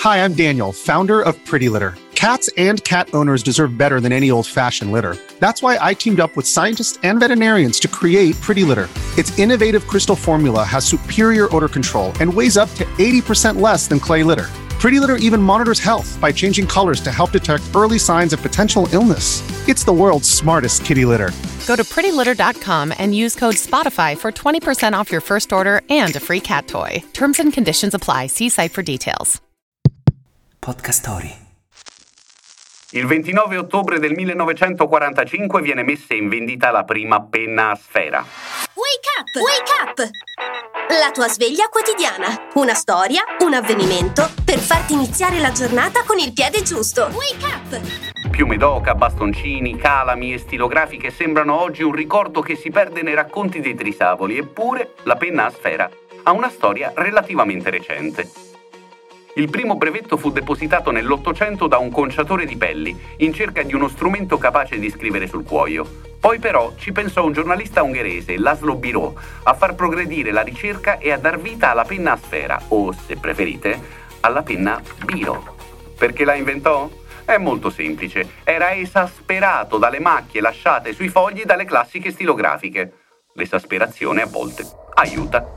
Hi, I'm Daniel, founder of Pretty Litter. Cats and cat owners deserve better than any old-fashioned litter. That's why I teamed up with scientists and veterinarians to create Pretty Litter. Its innovative crystal formula has superior odor control and weighs up to 80% less than clay litter. Pretty Litter even monitors health by changing colors to help detect early signs of potential illness. It's the world's smartest kitty litter. Go to prettylitter.com and use code SPOTIFY for 20% off your first order and a free cat toy. Terms and conditions apply. See site for details. Podcast Story. Il 29 ottobre del 1945 viene messa in vendita la prima penna a sfera. Wake up! Wake up! La tua sveglia quotidiana. Una storia, un avvenimento per farti iniziare la giornata con il piede giusto. Wake up! Piume d'oca, bastoncini, calami e stilografiche sembrano oggi un ricordo che si perde nei racconti dei Trisavoli, eppure la penna a sfera ha una storia relativamente recente. Il primo brevetto fu depositato nell'800 da un conciatore di pelli, in cerca di uno strumento capace di scrivere sul cuoio. Poi però ci pensò un giornalista ungherese, Laszlo Biro, a far progredire la ricerca e a dar vita alla penna a sfera, o, se preferite, alla penna Biro. Perché la inventò? È molto semplice. Era esasperato dalle macchie lasciate sui fogli dalle classiche stilografiche. L'esasperazione a volte aiuta.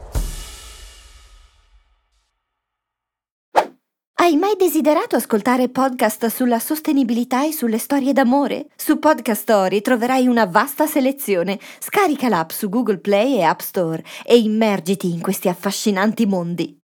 Hai mai desiderato ascoltare podcast sulla sostenibilità e sulle storie d'amore? Su Podcast Story troverai una vasta selezione. Scarica l'app su Google Play e App Store e immergiti in questi affascinanti mondi.